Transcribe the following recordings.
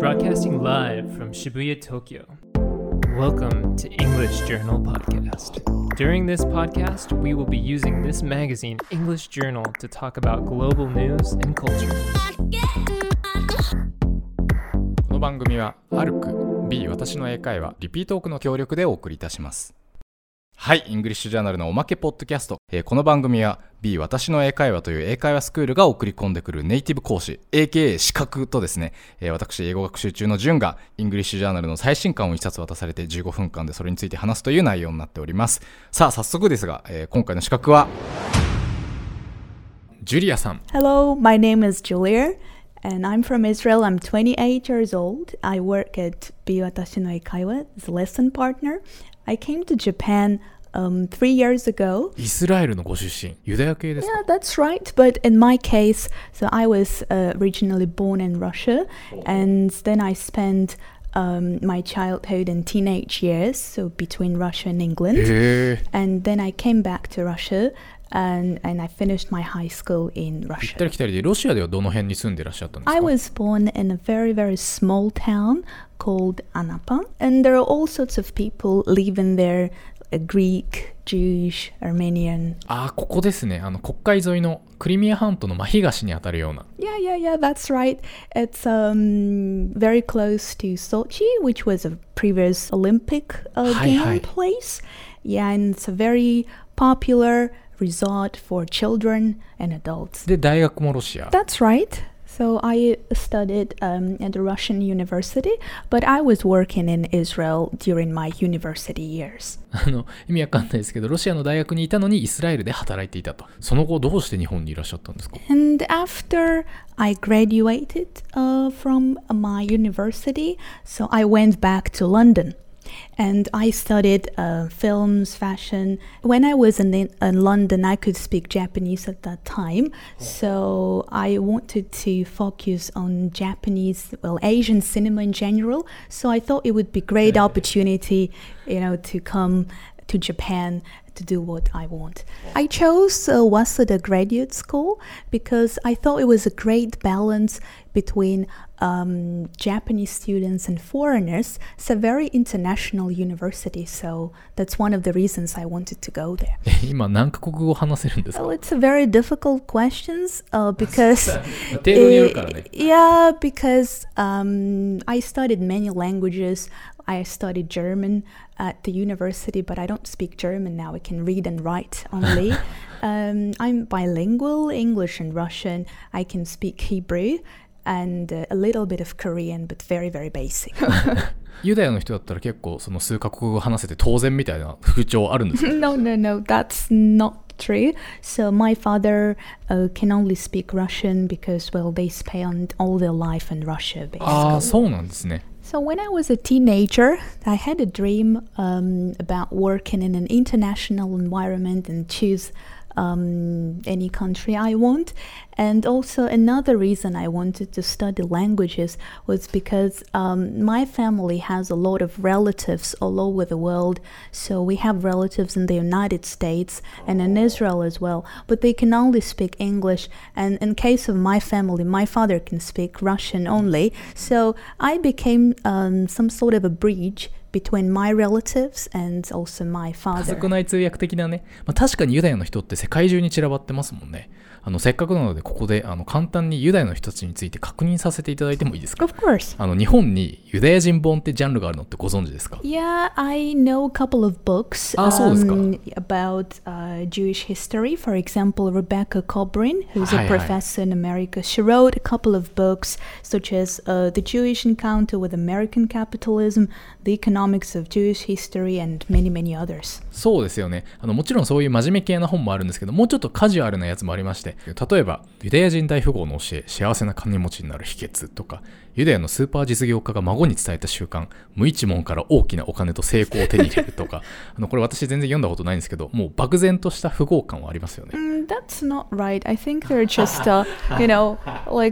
Broadcasting live from Shibuya, Tokyo. Welcome to English Journal Podcast. During this podcast, we will be using this magazine, English Journal, to talk about global news and culture. この番組は ARC B 私の英会話リピートークの協力でお送りいたします。はい、イングリッシュジャーナルのおまけポッドキャスト、この番組は B 私の英会話という英会話スクールが送り込んでくるネイティブ講師 AKA 資格とですね、私英語学習中のジュンがイングリッシュジャーナルの最新刊を一冊渡されて15分間でそれについて話すという内容になっております。さあ早速ですが、今回の資格はジュリアさん。 Hello, my name is Julia and I'm from Israel. I'm 28 years old. I work at B 私の英会話 as a lesson partner. I came to Japan 3 years ago. イスラエルのご出身、ユダヤ系ですか？ Yeah, that's right. But in my case, so I was originally born in Russia, and then I spent my childhood and teenage years, so between Russia and England. And then I came back to Russia, and I finished my high school in 行っ Russia. たり来たりでロシアではどの辺に住んでいらっしゃったんですか？ I was born in a very, very small town called Anapa, and there are all sorts of people living there, Greek, Jewish, Armenian. ここですね。黒海沿いのクリミア半島の真東にあたるような。 Yeah, that's right. It's very close to Sochi, which was a previous Olympic game place. Yeah, and it's a very popular resort for children and adults. で、大学もロシア。 That's right. So I studied at a Russian university, but I was working in Israel during my university years. 意味わかんないですけど、ロシアの大学にいたのにイスラエルで働いていたと。その後どうして日本にいらっしゃったんですか？ And after I graduated from my university, so I went back to London.And I studied films, fashion. When I was in London, I could speak Japanese at that time. So I wanted to focus on Japanese, Asian cinema in general. So I thought it would be a great opportunity, to come to Japan to do what I want. I chose Waseda Graduate School because I thought it was a great balance between Japanese students and foreigners. It's a very international university, so that's one of the reasons I wanted to go there. 今何カ国語話せるんですか？ Well, it's a very difficult questions because 程度によるからね。 Yeah, because I studied many languages. I studied German at the university, but I don't speak German now. I can read and write only. I'm bilingual, English and Russian. I can speak Hebrew.And a little bit of Korean, but very, very basic. ユダヤの人だったら結構その数カ国語話せて当然みたいな風潮あるんですか？ No, that's not true. So my father can only speak Russian because, they spent all their life in Russia, basically. そうなんですね。 So when I was a teenager, I had a dream about working in an international environment and choose any country I want. And also another reason I wanted to study languages was because my family has a lot of relatives all over the world. So we have relatives in the United States and in Israel as well, but they can only speak English. And in case of my family, my father can speak Russian only. So I became some sort of a bridge between my relatives and also my father. 家族内通訳的なね、確かにユダヤの人って世界中に散らばってますもんね。せっかくなのでここで簡単にユダヤの人たちについて確認させていただいてもいいですか？ Of course. 日本にユダヤ人本ってジャンルがあるのってご存知ですか？ Yeah, I know a couple of books そうですか。 about Jewish history. For example, Rebecca Kobrin, who's a professor in America, she wrote a couple of books such as The Jewish Encounter with American Capitalism, The Economics of Jewish History, and many, many others. そうですよね。もちろんそういう真面目系な本もあるんですけど、もうちょっとカジュアルなやつもありまして、例えばユダヤ人大富豪の教え、幸せな金持ちになる秘訣とか、ユダヤのスーパー実業家が孫に伝えた習慣、無一文から大きなお金と成功を手に入れるとかこれ私全然読んだことないんですけど、もう漠然とした富豪感はありますよね。 That's not right. I think they're just, like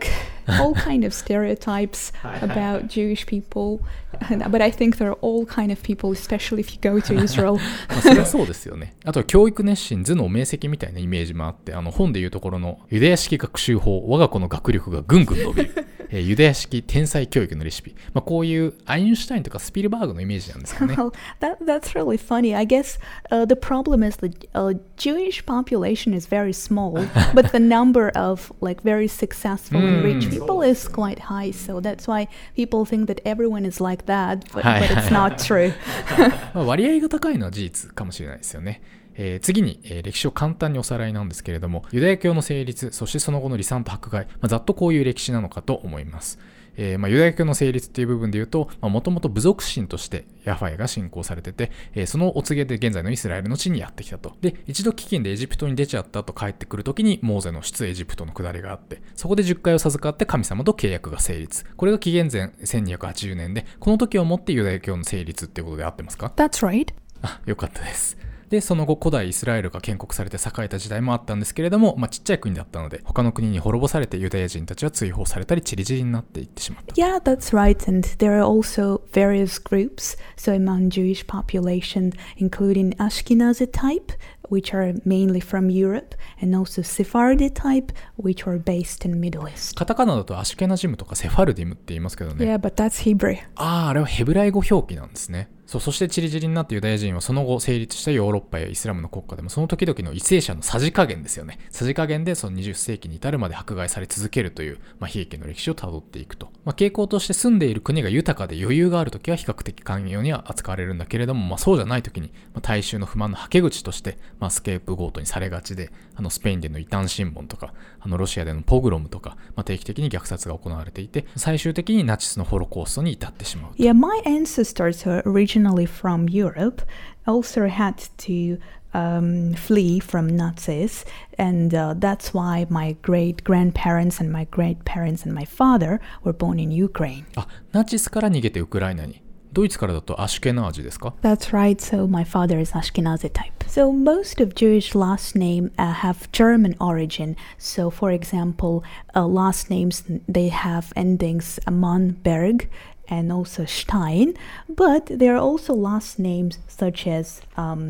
all kind of stereotypes about Jewish people. But I think they're all kind of people, especially if you go to Israel. それはそうですよね。あとは教育熱心、頭脳明晰みたいなイメージもあって、本でいうところのユダヤ式学習法、我が子の学力がぐんぐん伸びる。ユダヤ式天才教育のレシピ。こういうアインシュタインとかスピルバーグのイメージなんですかね。 Well, that's really funny. I guess the problem is the Jewish population is very small, but the number of like very successful and rich people is quite high. So that's why people think that everyone is like that, but it's not true. 割合が高いのは事実かもしれないですよね。次に、歴史を簡単におさらいなんですけれども、ユダヤ教の成立、そしてその後の離散と迫害、ざっとこういう歴史なのかと思います。ユダヤ教の成立っていう部分で言うと、もともと部族神としてヤファエが信仰されてて、そのお告げで現在のイスラエルの地にやってきたと。で、一度飢饉でエジプトに出ちゃったと帰ってくるときに、モーゼの出エジプトの下りがあって、そこで10回を授かって神様と契約が成立。これが紀元前1280年で、この時をもってユダヤ教の成立っていうことで合ってますか？ That's right. よかったです。で、その後古代イスラエルが建国されて栄えた時代もあったんですけれども、ちっちゃい国だったので、他の国に滅ぼされてユダヤ人たちは追放されたり、散り散りになっていってしまった。 Yeah, that's right. And there are also various groups, so among Jewish population, including Ashkenazi type, which are mainly from Europe, and also Sephardi type, which are based in Middle East. カタカナだとアシュケナジムとかセファルディムって言いますけどね。 Yeah, but that's Hebrew. あれはヘブライ語表記なんですね。そしてチリチリになってユダヤ人はその後成立したヨーロッパやイスラムの国家でもその時々の為政者のさじ加減ですよね。さじ加減でその20世紀に至るまで迫害され続けるという、悲劇の歴史をたどっていくと。傾向として住んでいる国が豊かで余裕がある時は比較的寛容には扱われるんだけれども、そうじゃない時に、大衆の不満のはけ口として、スケープゴートにされがちで、スペインでの異端審問とか、ロシアでのポグロムとか、定期的に虐殺が行われていて、最終的にナチスのホロコーストに至ってしまう。 Yeah, my ancestors are originally from Europe, also had to flee from Nazis, and that's why my great-grandparents and my great-parents and my father were born in Ukraine. ナチスから逃げてウクライナに。ドイツからだとアシュケナージですか？ That's right, so my father is Ashkenazi type. So most of Jewish last name have German origin. So for example, last names, they have endings Manberg and also Stein, but there are also last names such as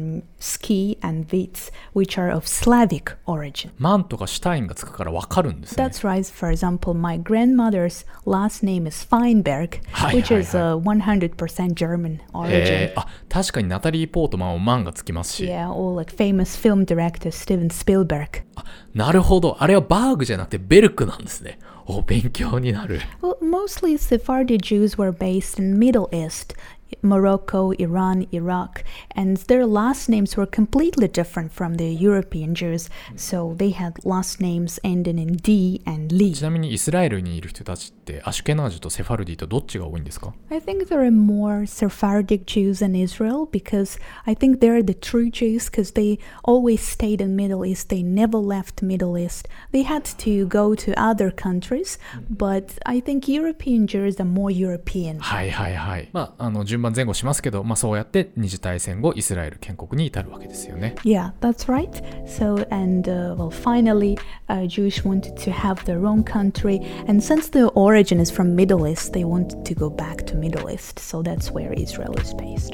Ski and Vitz, which are of Slavic origin. マンとかシュタインがつくからわかるんですね。 That's right. For example, my grandmother's last name is Feinberg, which is a 100% German origin. 確かにナタリー・ポートマンもマンがつきますし。 Yeah, or like famous film director Steven Spielberg. なるほど。あれはバーグじゃなくてベルクなんですね。勉強になる。 Well, mostly Sephardi Jews were based in Middle East, Morocco, Iran, Iraq, and their last names were completely different from the European Jews, so they had last names ending in D and Li. ちなみにイスラエルにいる人たちってアシュケナージとセファルディとどっちが多いんですか？ I think there are more Sephardic Jews in Israel because I think they're the true Jews because they always stayed in Middle East. They never left Middle East. They had to go to other countries, but I think European Jews are more European. はいはいはい。順番前後しますけど、そうやって二次大戦後イスラエル建国に至るわけですよね。 Yeah, that's right. So, and well, finally, Jews wanted to have their own country, and since the origin is from Middle East, they wanted to go back to Middle East. So that's where Israel is based.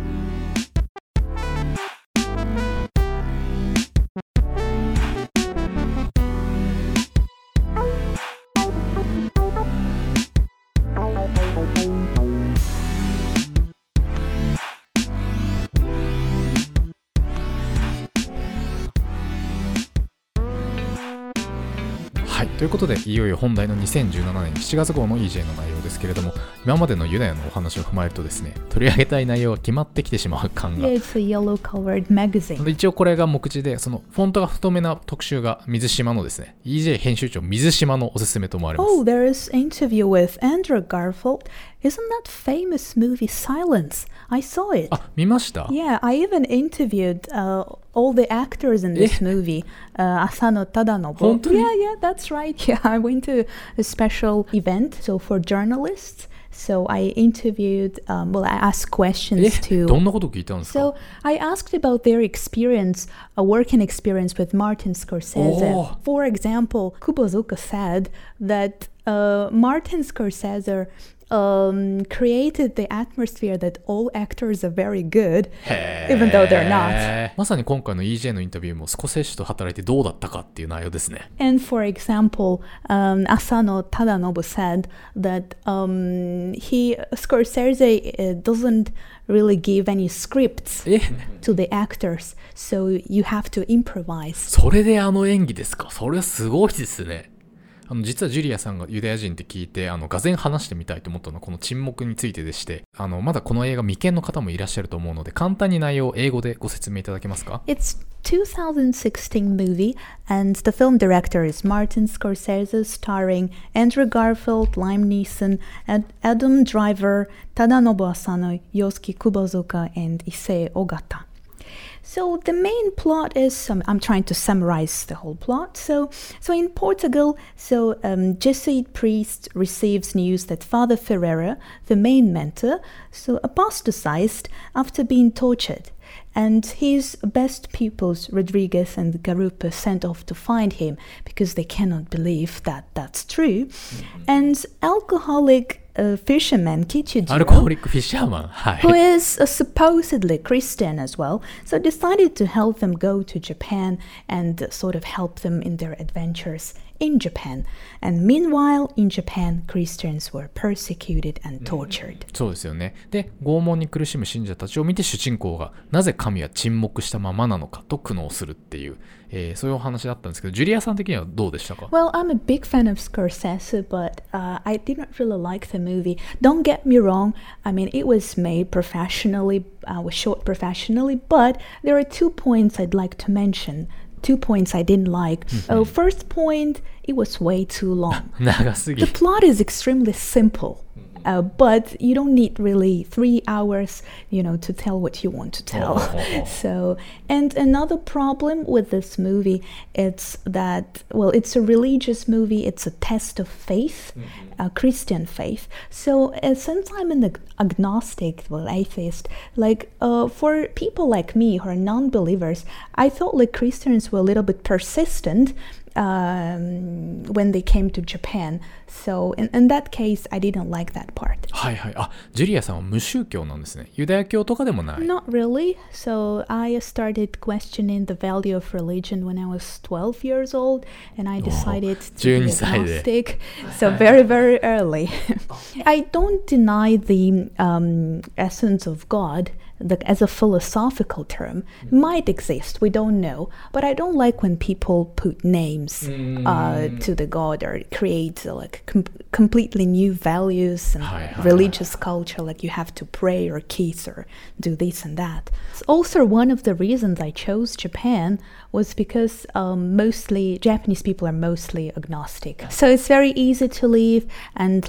はい、ということでいよいよ本題の2017年7月号の EJ の内容ですけれども、今までのユダヤのお話を踏まえるとですね、取り上げたい内容が決まってきてしまう感が。 Yeah, it's a yellow-colored magazine. 一応これが目次で、そのフォントが太めな特集が水島のですね、EJ 編集長水島のおすすめと思われます。 Oh, there is interview with Andrew Garfield. Isn't that famous movie Silence? I saw it. 見ました？ Yeah, I even interviewed all the actors in this movie. Asano Tadanobu. 本当に？ Yeah, that's right. Yeah, I went to a special event, so for journalists. So I interviewed, well, I asked questions to... どんなこと聞いたんですか？ So I asked about their experience, a working experience with Martin Scorsese. Oh. For example, Kubozuka said that Martin Scorsese created the atmosphere that all actors are very good, even though they're not. まさに今回の EJ のインタビューもスコセッシと働いてどうだったかっていう内容ですね。 And for example, Asano Tadanobu said that Scorsese doesn't really give any scripts to the actors, so you have to improvise. それであの演技ですか。それすごいですね。実はジュリアさんがユダヤ人って聞いてがぜん話してみたいと思ったのはこの沈黙についてでして、まだこの映画未見の方もいらっしゃると思うので簡単に内容を英語でご説明いただけますか？ It's 2016 movie and the film director is Martin Scorsese, starring Andrew Garfield, Liam Neeson, Adam Driver, Tadanobu Asano, Yosuke Kubozuka, and Issei Ogata. So the main plot is, I'm trying to summarize the whole plot. So in Portugal, Jesuit priest receives news that Father Ferreira, the main mentor, apostatized after being tortured. And his best pupils, Rodriguez and Garupa, sent off to find him because they cannot believe that that's true. And alcoholic fisherman Kichijiro, アルコホリックフィッシャーマン、はい、 who is supposedly Christian as well, so decided to help them go to Japan and sort of help them in their adventures in Japan. And meanwhile, in Japan, Christians were persecuted and tortured. そうですよね。で、拷問に苦しむ信者たちを見て主人公がなぜ神は沈黙したままなのかと苦悩するっていう、そういうお話だったんですけど、ジュリアさん的にはどうでしたか？ Well, I'm a big fan of Scorsese, but I didn't really like the movie. Don't get me wrong. I mean, it was made professionally, was shot professionally, but there are 2 points I'd like to mention. 2 points I didn't like. First point, it was way too long. 長すぎ。 The plot is extremely simple. But you don't need really 3 hours, to tell what you want to tell. So, and another problem with this movie, it's that, well, it's a religious movie. It's a test of faith, Christian faith. So since I'm an agnostic, atheist, for people like me who are non-believers, I thought Christians were a little bit persistent when they came to Japan. So in that case, I didn't like that part. はいはい。あ、ジュリアさんは無宗教なんですね。ユダヤ教とかでもない。 Not really. So I started questioning the value of religion when I was 12 years old, and I decided to be agnostic. So very, very early. I don't deny the essence of God. As a philosophical term, might exist, we don't know, but I don't like when people put names to the god or create completely new values and religious culture, like you have to pray or kiss or do this and that. Also, one of the reasons I chose Japan was because mostly Japanese people are mostly agnostic, so it's very easy to live, and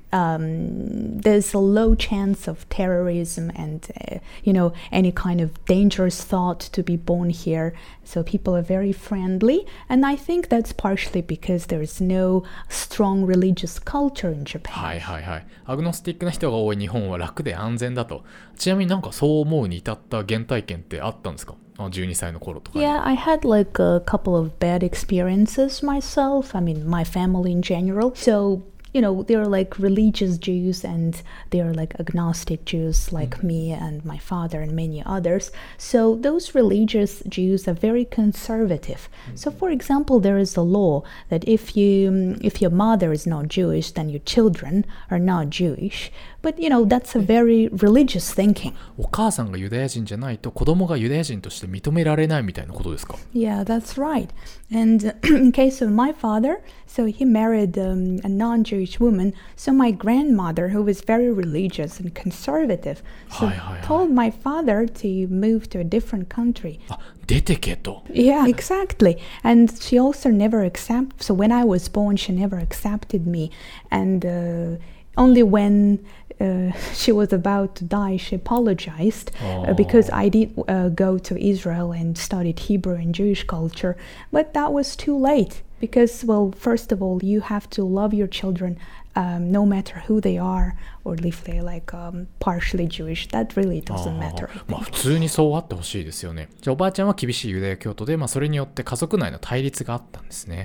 there's a low chance of terrorism and any kind of dangerous thought to be born here. So people are very friendly, and I think that's partially because there is no strong religious culture in Japan. はいはいはい。アグノスティックな人が多い日本は楽で安全だと。ちなみになんかそう思うに至った原体験ってあったんですか？12歳の頃とかに。 Yeah, I had a couple of bad experiences myself. I mean, my family in general. So, they're religious Jews and they're agnostic Jews like me and my father and many others. So those religious Jews are very conservative. So for example, there is a law that if your mother is not Jewish, then your children are not Jewish. But that's a very religious thinking. お母さんがユダヤ人じゃないと子供がユダヤ人として認められないみたいなことですか？ Yeah, that's right. And in case of my father, so he married a non-Jewish woman. So my grandmother, who was very religious and conservative, told my father to move to a different country. あ、出てけと。 Yeah, exactly. And she also never accepted. So when I was born, she never accepted me. And only when she was about to die, she apologized because I did go to Israel and studied Hebrew and Jewish culture. But that was too late because, well, first of all, you have to love your children no matter who they are, or if they're partially Jewish. That really doesn't matter. まあ普通にそうあってほしいですよね。じゃあおばあちゃんは厳しいユダヤ教徒で、それによって家族内の対立があったんですね。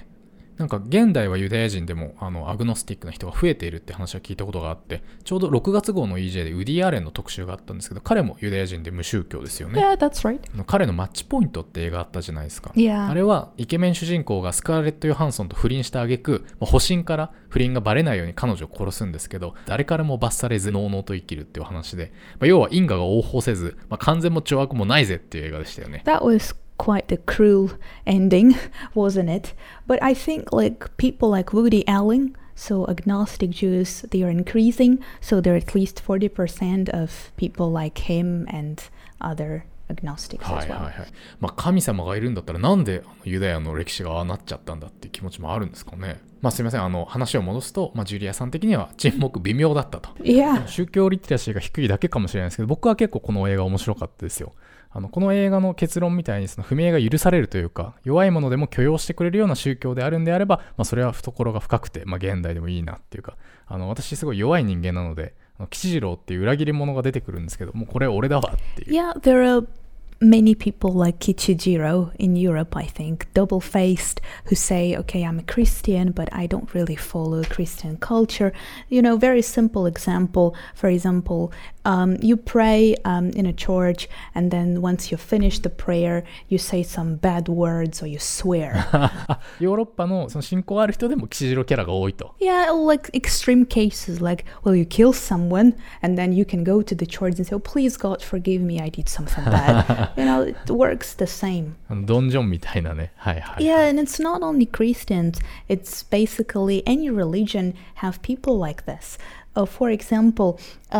なんか現代はユダヤ人でもアグノスティックな人が増えているって話を聞いたことがあって、ちょうど6月号の EJ でウディ・アレンの特集があったんですけど、彼もユダヤ人で無宗教ですよね。 Yeah, that's right. 彼のマッチポイントって映画あったじゃないですか。 Yeah. あれはイケメン主人公がスカーレット・ヨハンソンと不倫した挙句、保身から不倫がバレないように彼女を殺すんですけど、誰からも罰されずのうのうと生きるっていう話で、要は因果が応報せず、完全も懲悪もないぜっていう映画でしたよね。 That was quite a cruel ending, wasn't it? But I think like people like Woody Allen, so agnostic Jews, they are increasing, so there are at least 40% of people like him and other agnostics as well. 神様がいるんだったらなんでユダヤの歴史がああなっちゃったんだっていう気持ちもあるんですかね。すいません、話を戻すと、ジュリアさん的には沈黙微妙だったと。 Yeah. 宗教リテラシーが低いだけかもしれないですけど、僕は結構この映画面白かったですよ。この映画の結論みたいにその不明が許されるというか、弱いものでも許容してくれるような宗教であるんであれば、それは懐が深くて、現代でもいいなっていうか、私すごい弱い人間なので、吉次郎っていう裏切り者が出てくるんですけど、もうこれ俺だわっていう。 Yeah, there are many people like Kichijiro in Europe, I think, double-faced, who say, okay, I'm a Christian, but I don't really follow Christian culture. You know, very simple example, for example, you pray in a church, and then once you finish the prayer, you say some bad words or you swear. ヨーロッパのその信仰ある人でも吉次郎キャラが多いと。 Yeah, like extreme cases, like, well, you kill someone, and then you can go to the church and say, oh, please, God, forgive me, I did something bad. You know, it works the same. ドンジョンみたいなね。 Yeah, and it's not only Christians. It's basically any religion have people like this. For example,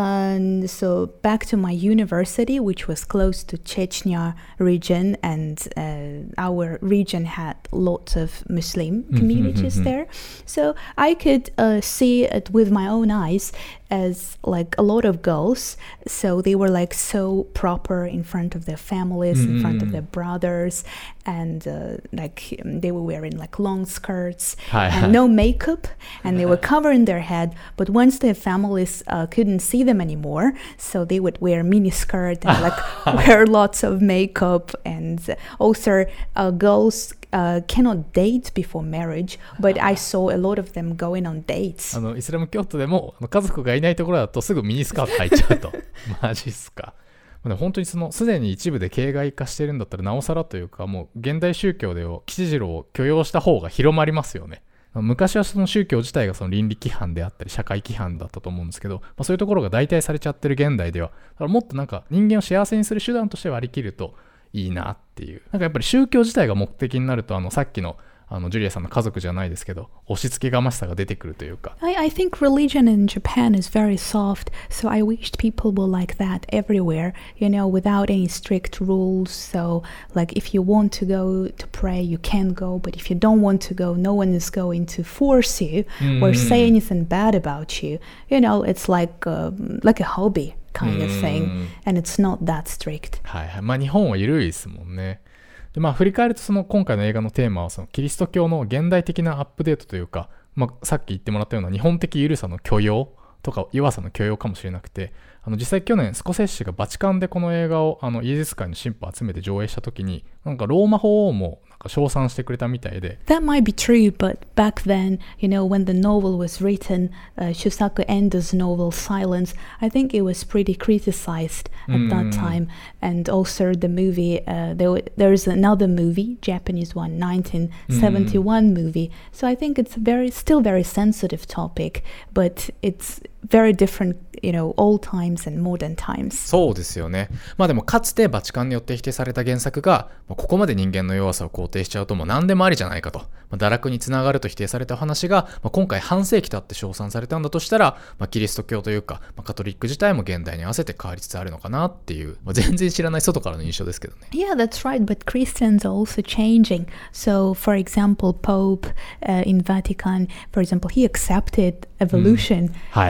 so back to my university, which was close to Chechnya region, and our region had lots of Muslim communities there. So I could see it with my own eyes as like a lot of girls. So they were like so proper in front of their families, in front of their brothers, and like they were wearing like long skirts and no makeup, and they were covering their head. But once their families couldn't see them anymore, so they would wear mini skirt and like wear lots of makeup, and also girls cannot date before marriage, but I saw a lot of them going on dates. イスラム教徒でも家族がいないところだとすぐミニスカート履いちゃうと。マジっすか。本当にすでに一部で形骸化してるんだったらなおさらというか、もう現代宗教で吉次郎を許容した方が広まりますよね。昔はその宗教自体がその倫理規範であったり社会規範だったと思うんですけど、そういうところが代替されちゃってる現代では、だからもっとなんか人間を幸せにする手段として割り切るといいなっていう。なんかやっぱり宗教自体が目的になると、さっきのジュリアさんの家族じゃないですけど、押し付けがましさが出てくるというか。 I think religion in Japan is very soft, so I wished people were like that everywhere, you know, without any strict rules. So, like, if you want to go to pray, you can go, but if you don't want to go, no one is going to force you or say anything bad about you. You know, it's like a hobby kind of thing, and it's not that strict. 日本は緩いですもんね。で振り返ると今回の映画のテーマはキリスト教の現代的なアップデートというか、さっき言ってもらったような日本的緩さの許容とか弱さの許容かもしれなくて、実際去年スコセッシがバチカンでこの映画をイエズス会の神父を集めて上映した時に、なんかローマ法王も称賛してくれたみたいで。 That might be true, but back then, you know, when the novel was written, Shusaku Endo's novel Silence, I think it was pretty criticized at that time. And also the movie, there is another movie, Japanese one, 1971 movie. So I think it's still very sensitive topic, but it's very different, you know, old times and modern times. そうですよね。でもかつてバチカンによって否定された原作が、ここまで人間の弱さを肯定しちゃうともう何でもありじゃないかと、堕落につながると否定された話が、今回半世紀経って称賛されたんだとしたら、キリスト教というか、カトリック自体も現代に合わせて変わりつつあるのかなっていう、全然知らない外からの印象ですけどね。 Yeah, that's right, but Christians are also changing. So, for example, Pope in Vatican, for example, he accepted evolution.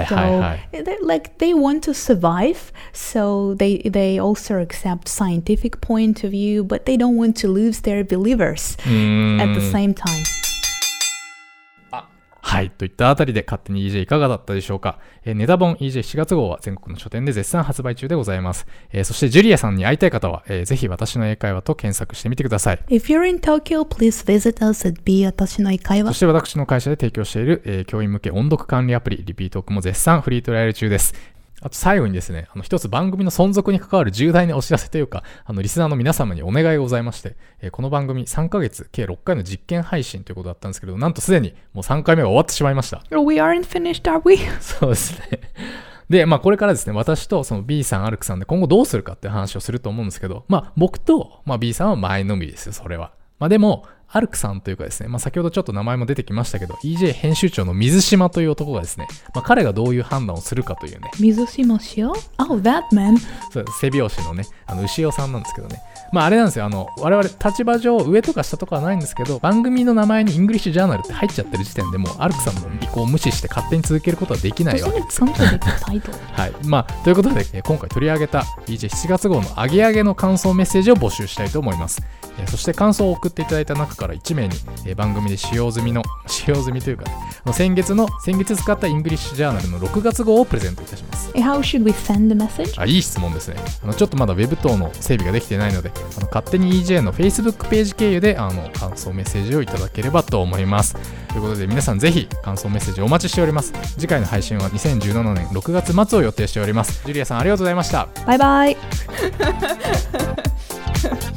Like they want to survive, so they also accept scientific point of view, but they don't want to lose their believers at the same time. はい。といったあたりで勝手に EJ いかがだったでしょうか。ネタ本 EJ7 月号は全国の書店で絶賛発売中でございます。そしてジュリアさんに会いたい方は、ぜひ私の英会話と検索してみてください。 If you're in Tokyo, please visit us at B 私の英会話。 そして私の会社で提供している、教員向け音読管理アプリリピートークも絶賛フリートライアル中です。あと最後にですね、一つ番組の存続に関わる重大なお知らせというか、リスナーの皆様にお願いがございまして、この番組3ヶ月、計6回の実験配信ということだったんですけど、なんとすでにもう3回目が終わってしまいました。 We aren't finished, are we? そうですね。で、これからですね、私とその B さん、アルクさんで今後どうするかって話をすると思うんですけど、僕と、B さんは前のみですよ、それは。でも、アルクさんというかですね、先ほどちょっと名前も出てきましたけど、EJ 編集長の水島という男がですね、彼がどういう判断をするかというね。 水島氏よ Oh, that man. そう、背拍子のね、牛尾さんなんですけどね。あれなんですよ、我々立場上上とか下とかはないんですけど、番組の名前にイングリッシュジャーナルって入っちゃってる時点でもうアルクさんの意向を無視して勝手に続けることはできないわけです。はい。ということで、今回取り上げた EJ7 月号のアゲアゲの感想メッセージを募集したいと思います。そして感想を送っていただいた中から1名に、番組で使用済みというか、ね、先月使ったイングリッシュジャーナルの6月号をプレゼントいたします。 How should we send the message? いい質問ですね。ちょっとまだ Web 等の整備ができていないので、勝手に EJ の Facebook ページ経由で感想メッセージをいただければと思います。ということで皆さんぜひ感想メッセージお待ちしております。次回の配信は2017年6月末を予定しております。ジュリアさんありがとうございました。 バイバイ。